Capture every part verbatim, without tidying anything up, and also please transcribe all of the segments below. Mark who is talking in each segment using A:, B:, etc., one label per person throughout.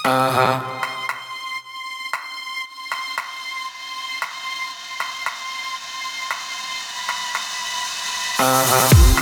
A: Uh-huh. Uh-huh.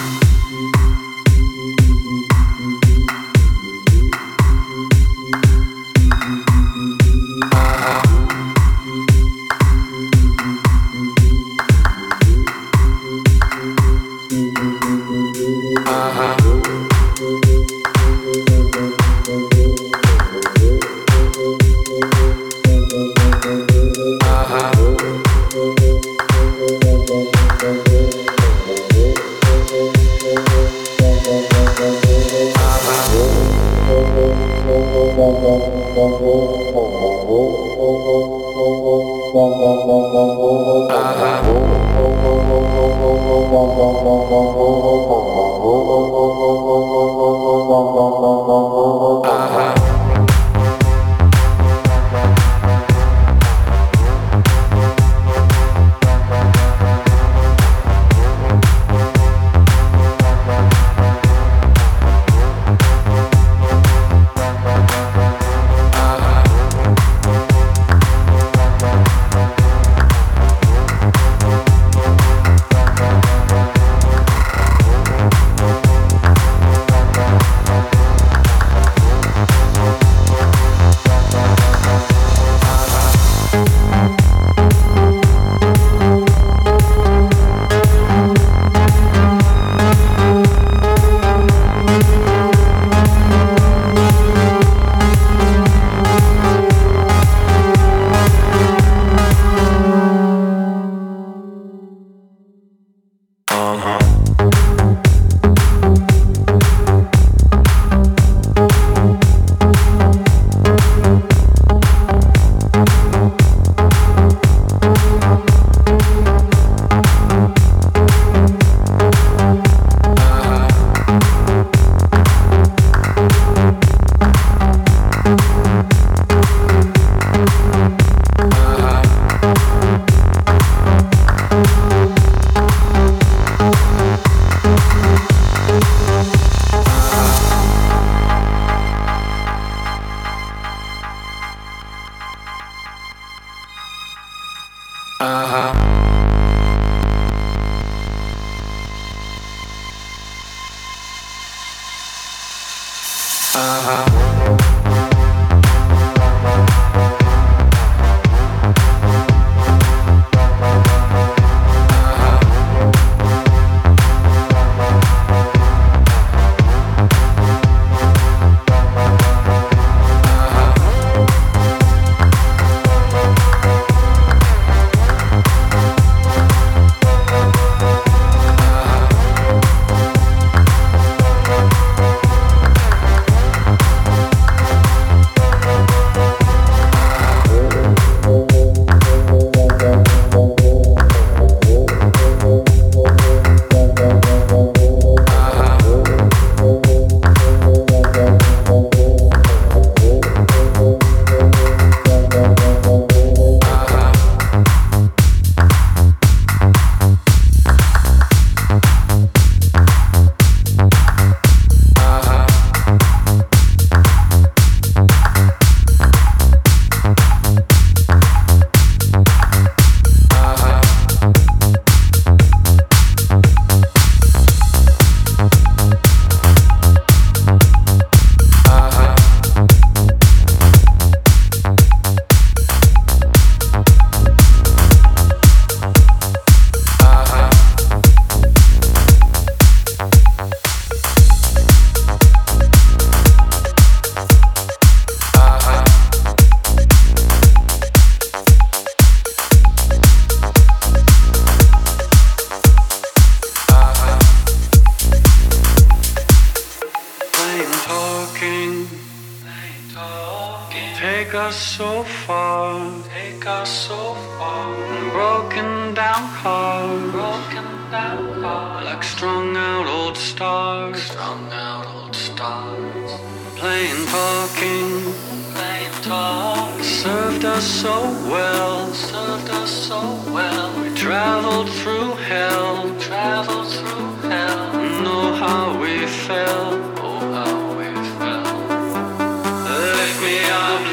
B: How we fell, oh how we fell. Lift me up.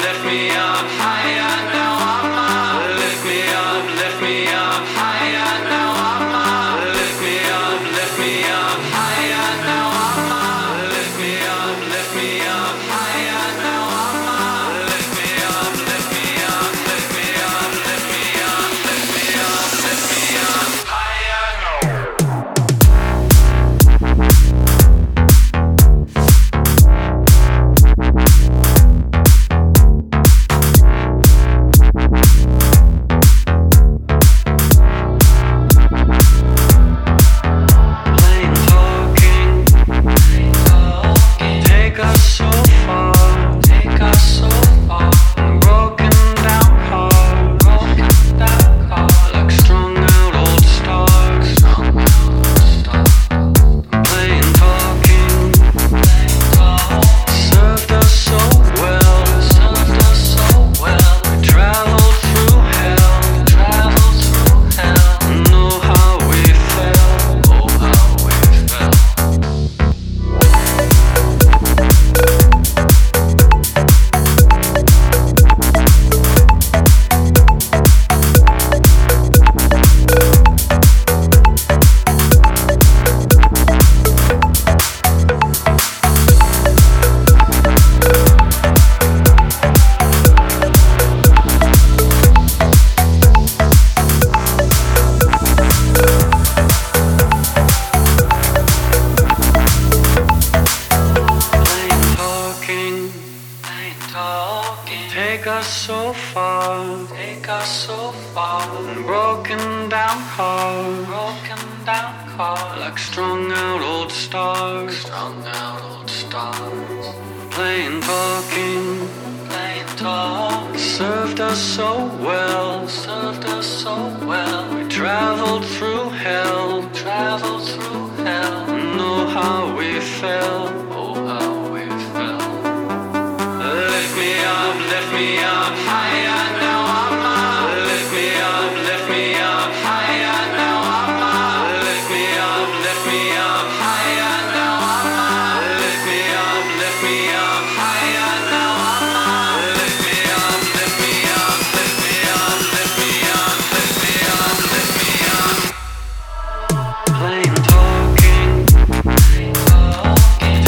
A: down cars, like strung out old stars, strung out old stars. Playing talking, playing talk, served us so well, served us so well. We traveled through hell, traveled through hell. Know how we fell, oh how we fell. Lift me up, lift me up higher, now I'm up. Lift me up, lift me up higher, now I'm up. Lift me up, lift me up higher, now I'm up. Lift me up, lift me up higher, now I'm up. Lift me up, lift me up, lift me up, lift me up, lift me up, lift me up. Plain talking, plain talking.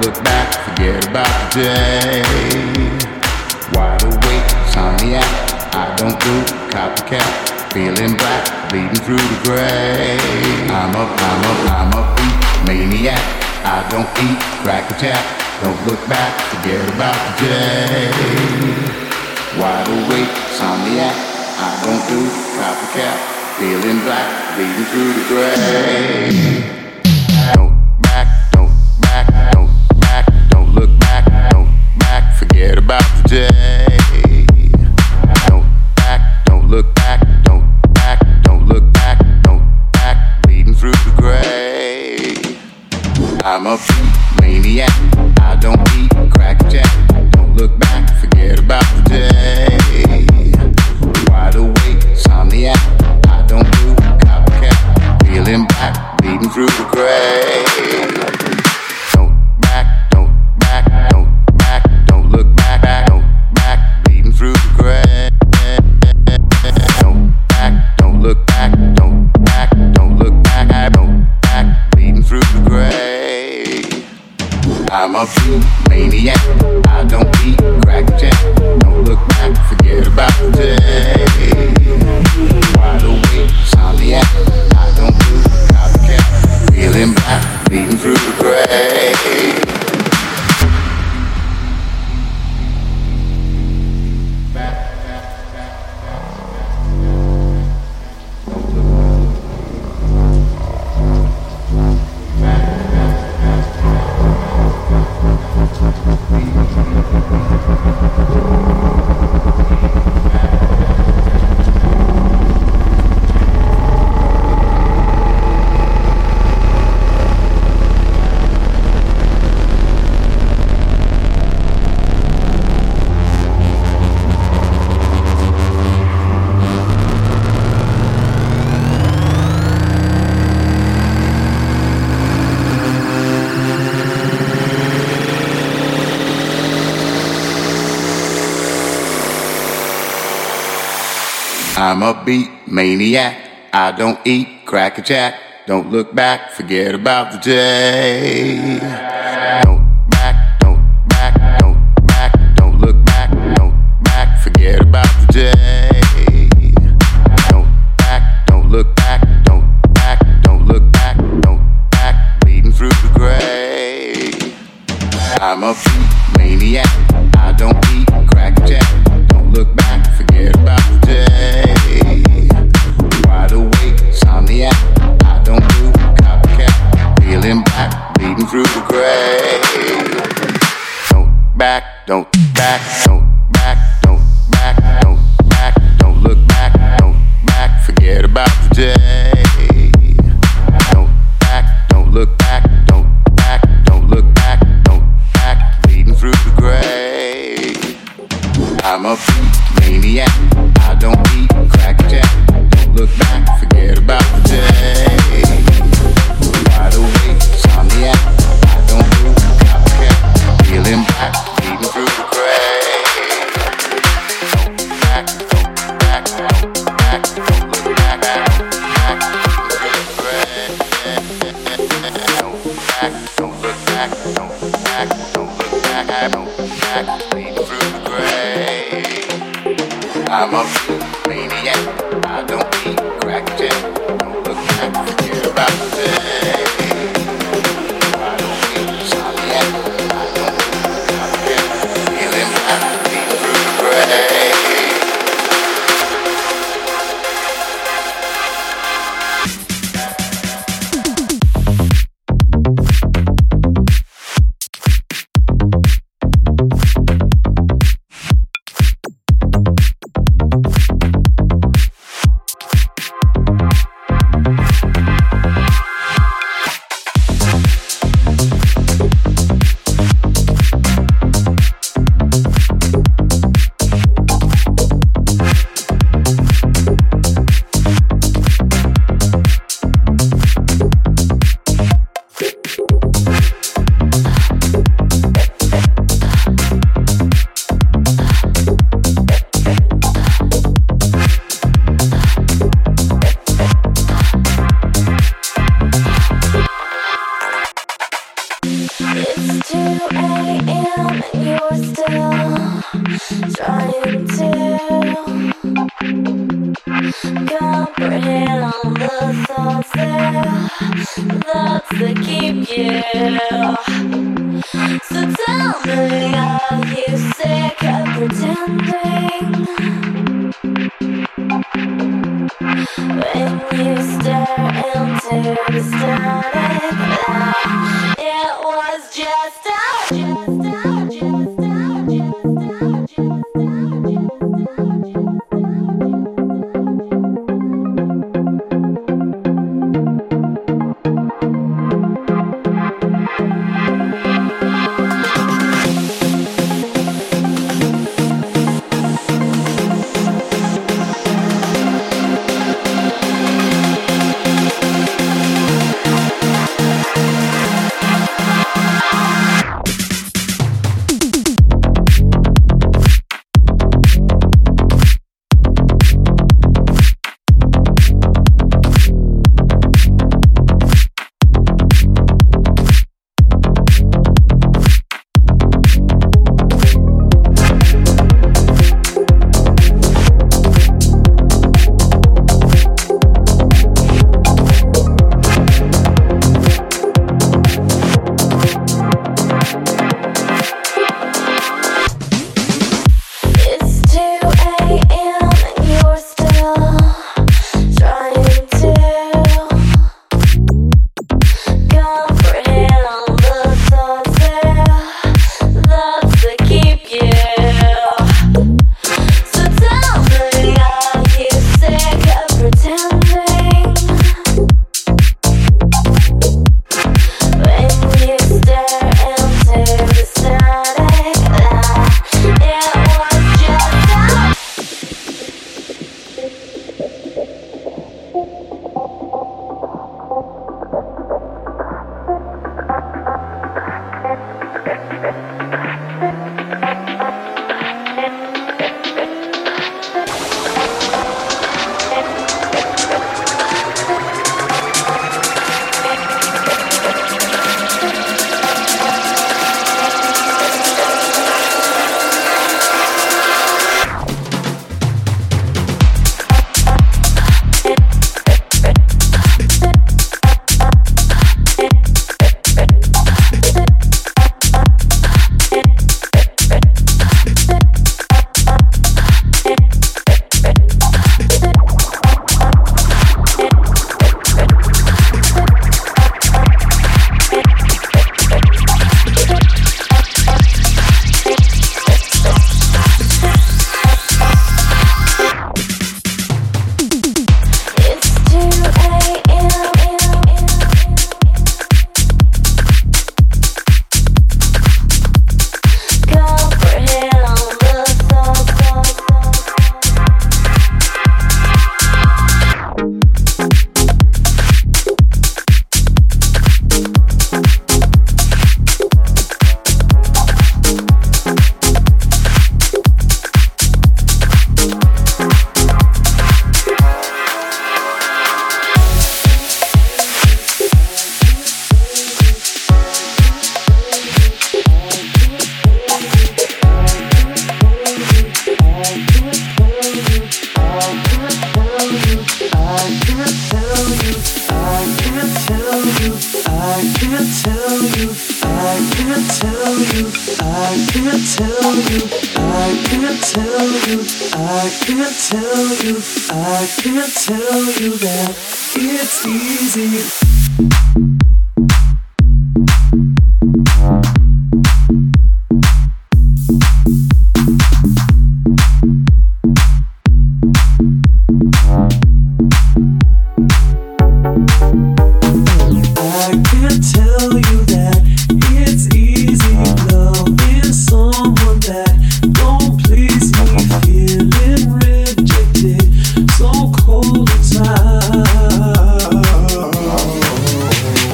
B: look back, forget about the day. Wide awake, insomniac, I don't do copycat. Feeling black, bleeding through the gray. I'm a, I'm a, I'm a beat maniac. I don't eat crack attack. Don't look back, forget about the day. Wide awake, insomniac, I don't do copycat. Feeling black, bleeding through the gray. Don't back, don't back, don't back, don't look back, don't back, forget about the day. Don't back, don't look back, don't back, don't look back, don't back, bleeding through the gray. I'm a beat maniac, I don't eat crack jack. Don't look back, forget about the day. Wide awake, insomniac, I don't do copycat. Feeling black, bleeding through the gray. Don't back, don't back, don't back, don't look back, don't back, bleeding through the gray. Don't back, don't look back, don't back, don't look back, don't back, bleeding through the gray. I'm a beat maniac, I don't eat crack jack. Don't look back, forget about the day. Wide awake, insomniac, I don't do copycat. Feeling black, bleeding through the gray. I'm a beat maniac, I don't eat crack a jack. Don't look back, forget about the day. Don't back, don't back, don't back, don't look back, don't back, forget about the day. Don't back, don't look back, don't back, don't look back, don't back, bleeding through the gray. I'm a beat maniac, I don't eat crack a jack. Don't look back, forget about the day. Wide awake, insomniac, I don't do copycat. Feeling black, bleeding through the gray. Don't back, don't back, don't back, don't back, don't back, don't look back, don't back, forget about the day. Don't back, don't look back, don't back, don't look back, don't back, bleeding through the gray. I'm a beat maniac, I don't eat crack jack. Don't look back, forget about the day. Wide awake, insomniac, I don't do copycat. Feeling black, bleeding through the gray. Don't back, don't back, don't back, don't look back, don't back, bleeding through the gray. Don't back, don't look back, don't back, don't look back, don't back, bleeding through the gray. I'm a maniac, I don't eat crack jack. Don't look back, forget about the day. I don't eat insomniac, I don't do copycat. Feeling black, bleeding through the gray.
C: you. So tell me, are you sick of pretending? When you stare into the static light, it was just a, just a, just a, just a, just a, just a.
D: So cold inside.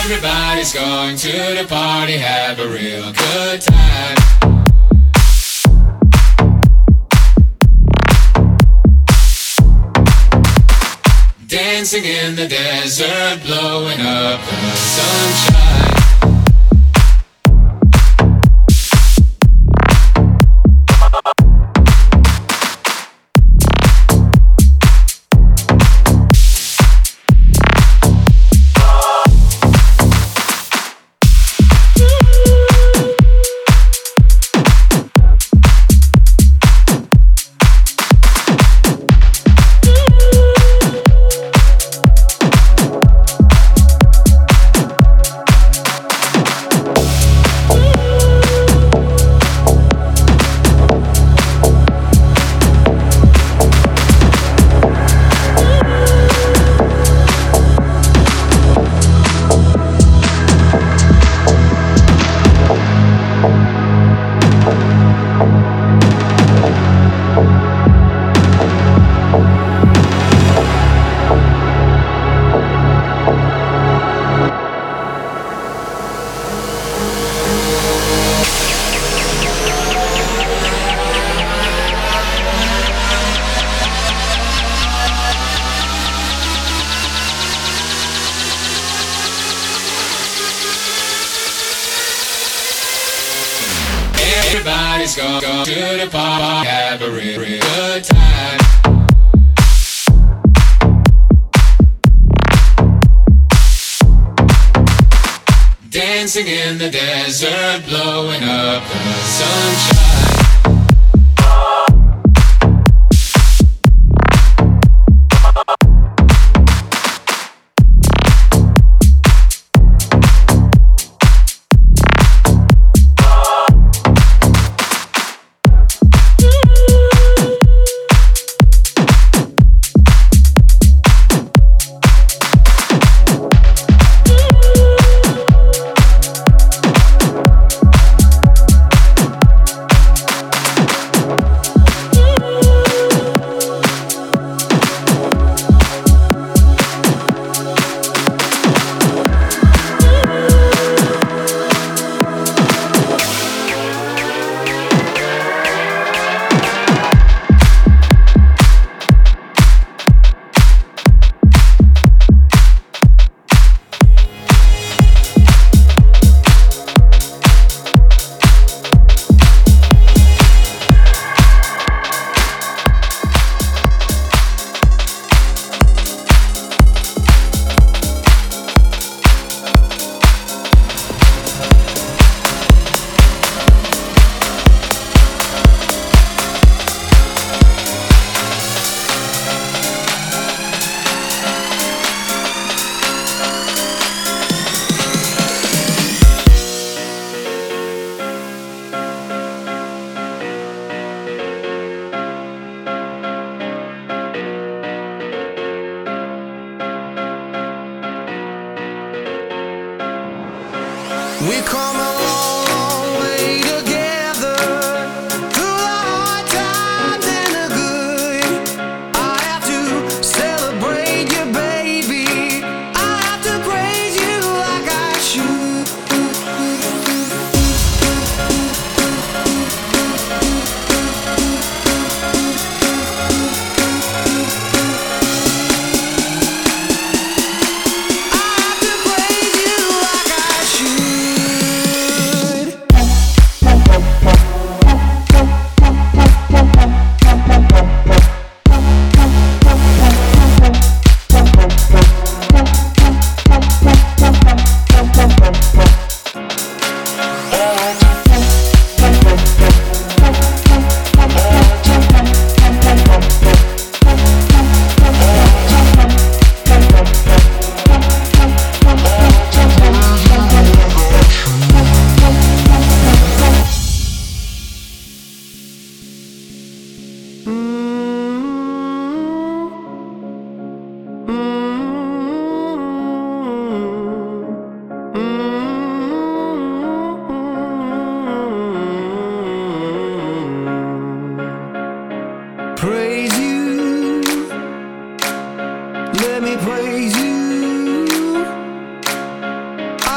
D: Everybody's going to the party, have a real good time. Dancing in the desert, blowing up the sunshine. Everybody's going go to the party, have a real, real good time. Dancing in the desert, blowing up the sunshine.
E: We come a long, long way together, through the hard times and the good. I have to celebrate you, baby. I have to praise you like I should. I have to praise you like I should. Praise you, let me praise you.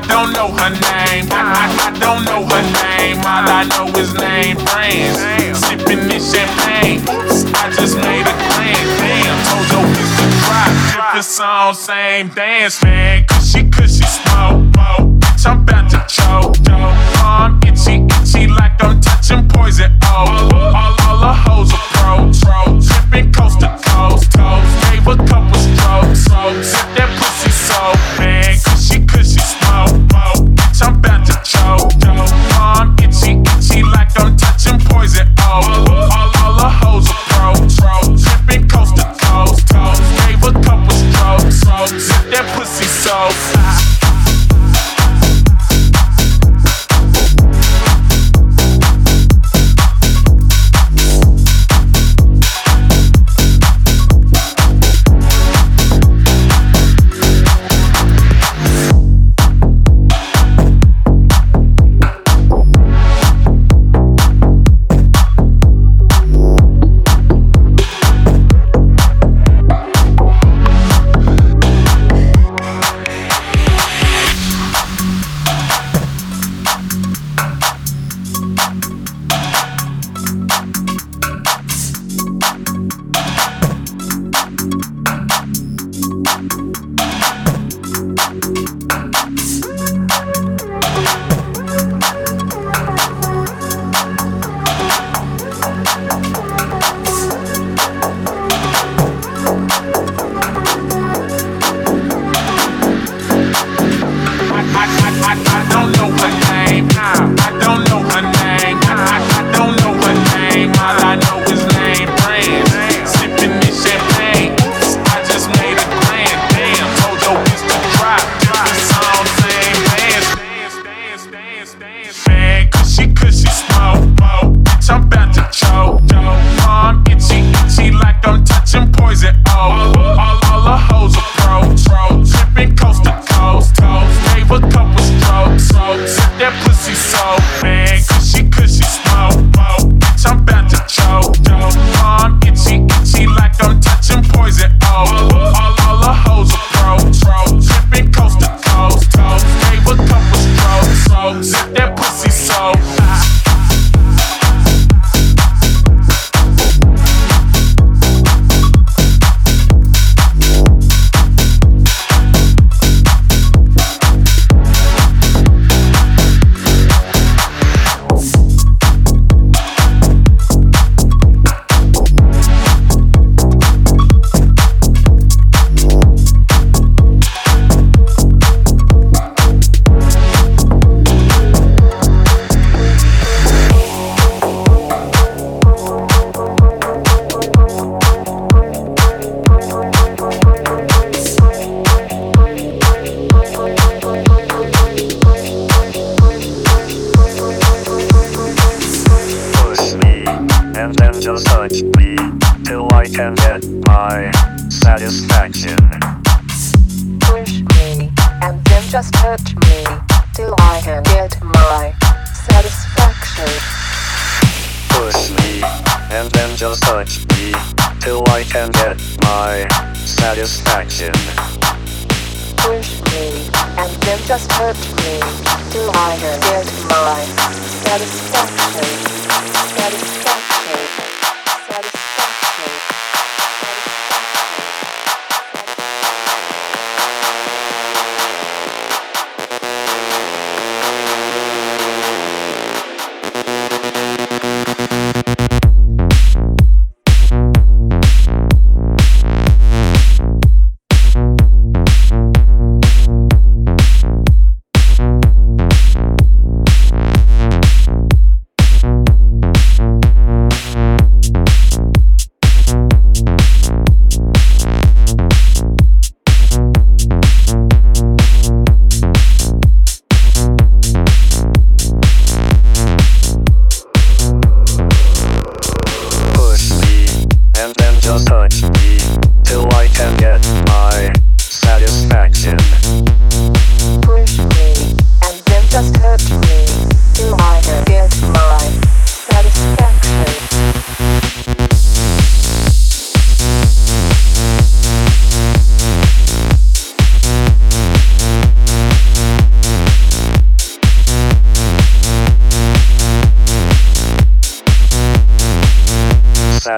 F: don't know her name. I, I, I don't know her name. All I know is name brands. Sipping this champagne. I just made a plan. Damn, Tojo is the drop. Different song, same dance, man. Cushy, cushy, smoke, smoke. Bitch, I'm about to choke, yo. I'm itchy, itchy like I'm touching poison. Oh, all, all the hoes approach. Tripping coast to coast, toast. Gave a couple strokes, strokes. Sip that pussy so, man. Cushy, cushy, smoke, smoke. Bitch, I'm about to choke, yo. I'm itchy, itchy like I'm touching poison. Oh, all, all the hoes approach. Tripping coast to coast, toast. Gave a couple strokes, strokes. Sip that pussy so.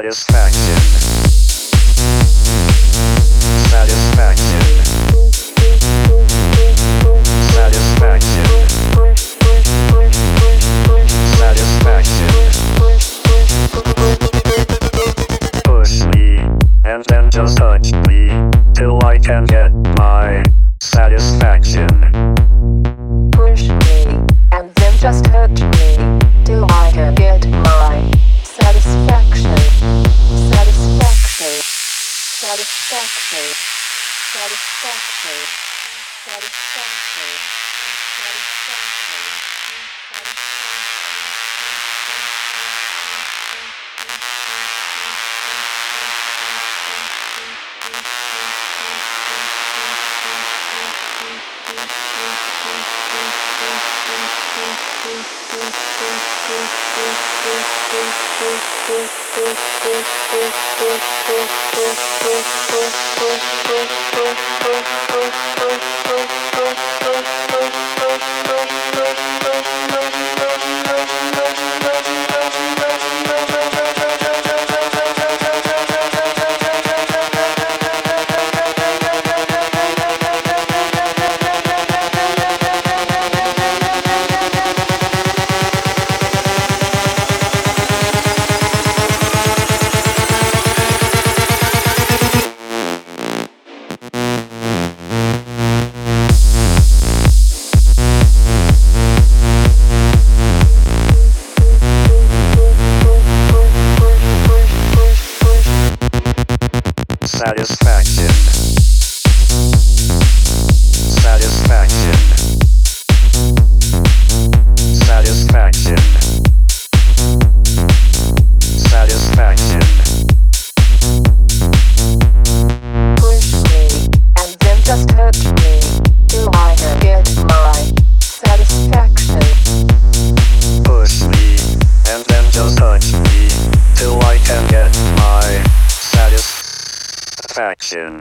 G: Satisfaction. Satisfaction. Satisfaction. Satisfaction. Push me, and then just touch me, till I can get my satisfaction.
C: Push me, and then just touch me, till I can get my satisfaction. Satisfaction. Satisfaction. Satisfaction. Satisfaction. Satisfaction.
G: Satisfaction. Satisfaction. Satisfaction. Satisfaction.
C: Push me, and then just touch me, till I can get my satisfaction.
G: Push me, and then just touch me, till I can get my satisfaction.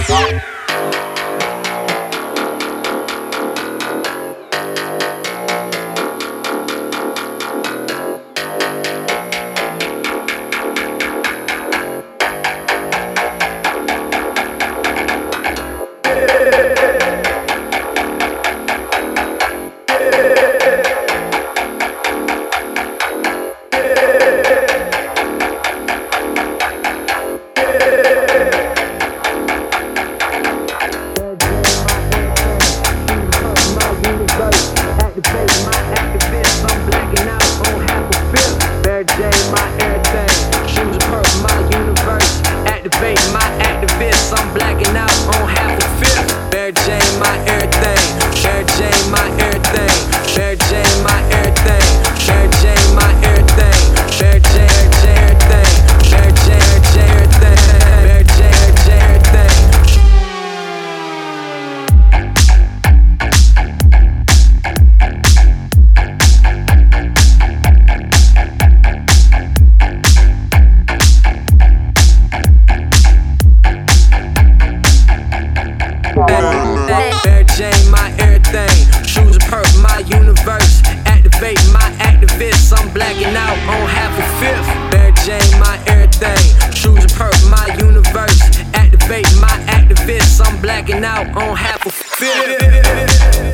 H: fifth, I'm blacking out on half a fifth. Mary Jane, my everything. Shoes and perp, my universe. Activate my activists, I'm blacking out on half a fifth.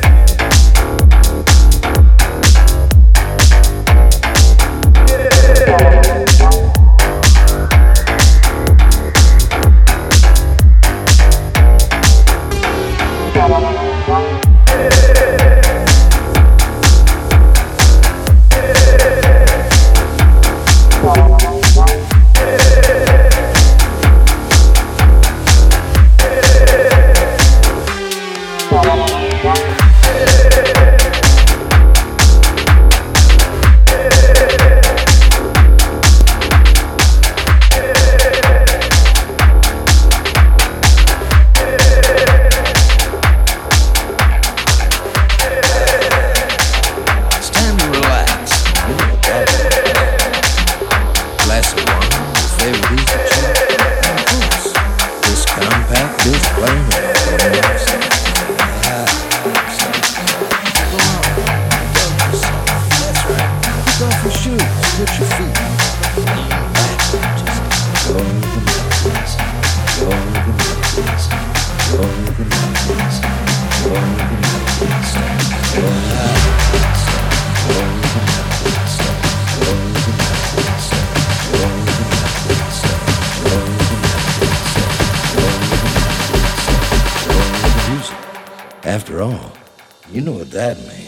I: After all, you know what that means.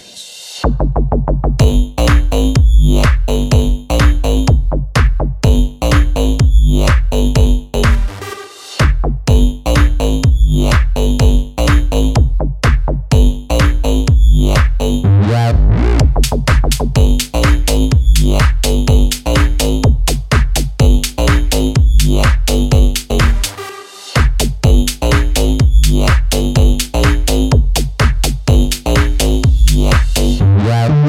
I: Wow.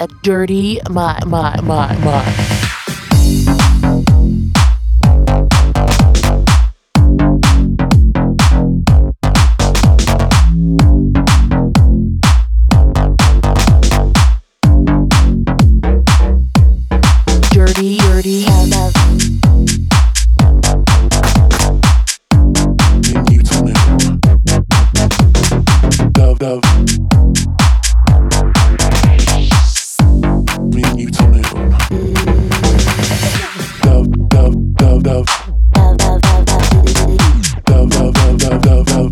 J: a dirty my my my my. Dirty, dirty, love.
K: You tell me, love, love. When you tell me, love, love, love, love. Love, love, love, love, love, love.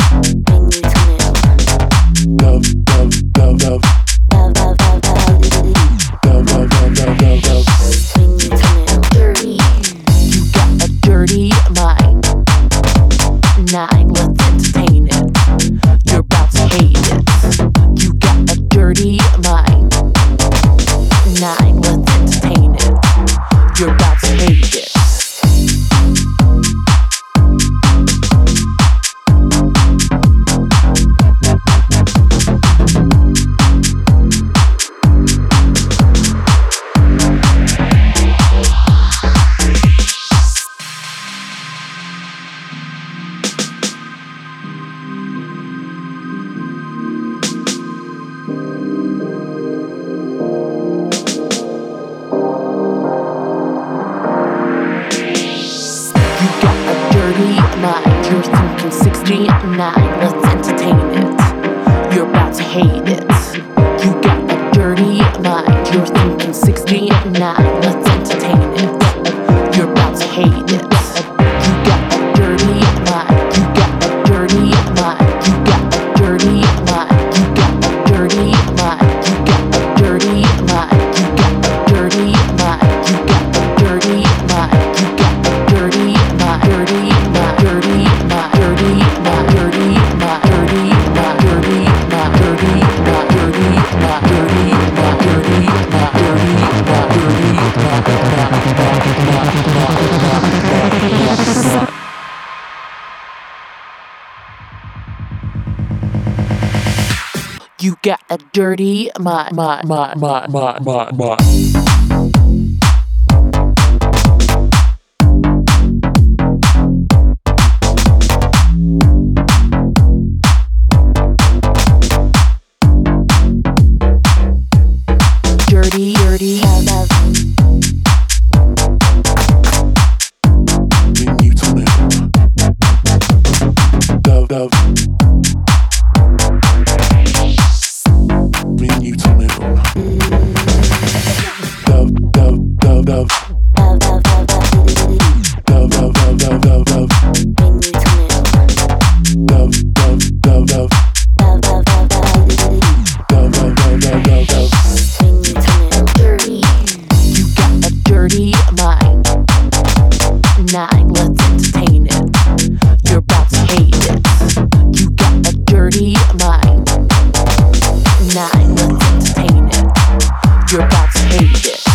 K: Love, love, love, love. Love, love, love, love, love, love.
J: Dirty. You got a dirty mind. Nine, let's entertain it. You're about to hate it. You got a dirty mind. Nine, let's entertain it. You're about to hate it. You're thinking sixty-nine, let's entertain it. You're about to hate it. You got a dirty mind. You're thinking sixty-nine, let's entertain it. You're about to hate it. You got a dirty mind. You got a dirty mind. You got a dirty mind. You got a dirty mind. You got a dirty mind. You got a dirty mind. You got a dirty mind. You got a dirty mind. Dirty mind. Dirty mind. Dirty mind. Dirty mind. Dirty mind. Dirty mind. Dirty mind. Dirty mind. Dirty mind. Dirty mind. Dirty mind. You got a dirty my my my my my my my. Dirty, dirty, love.
K: When you tell me, love, love. When you tell me, love, love, love, love. Love, love, love, love, love, love. Love, love, love, love. Love, love, love, love, love, love.
J: You got a dirty mind. Nine, let's entertain it. You're about to hate it. You got a dirty mind. Nine, let's entertain it. You're about to hate it.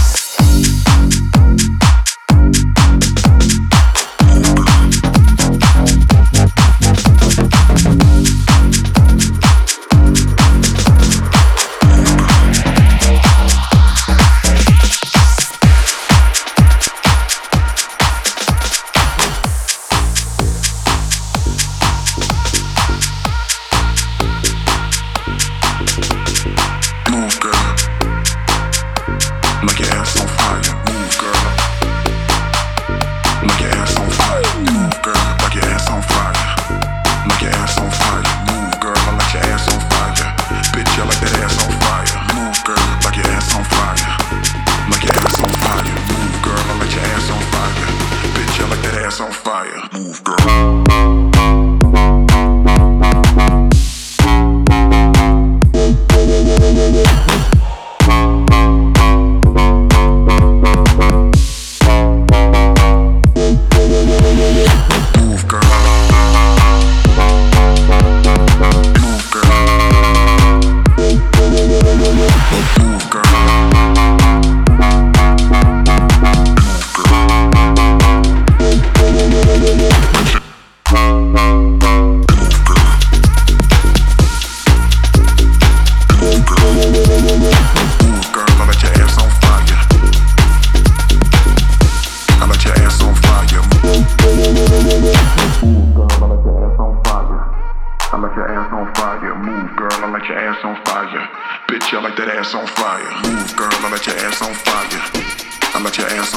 L: Move, girl. I'ma get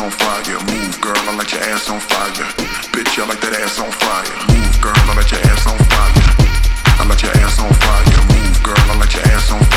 L: on fire. Move, girl, I like your ass on fire. Bitch, I like that ass on fire. Move, girl, I like your ass on fire. I like your ass on fire. Move, girl, I like your ass on fire.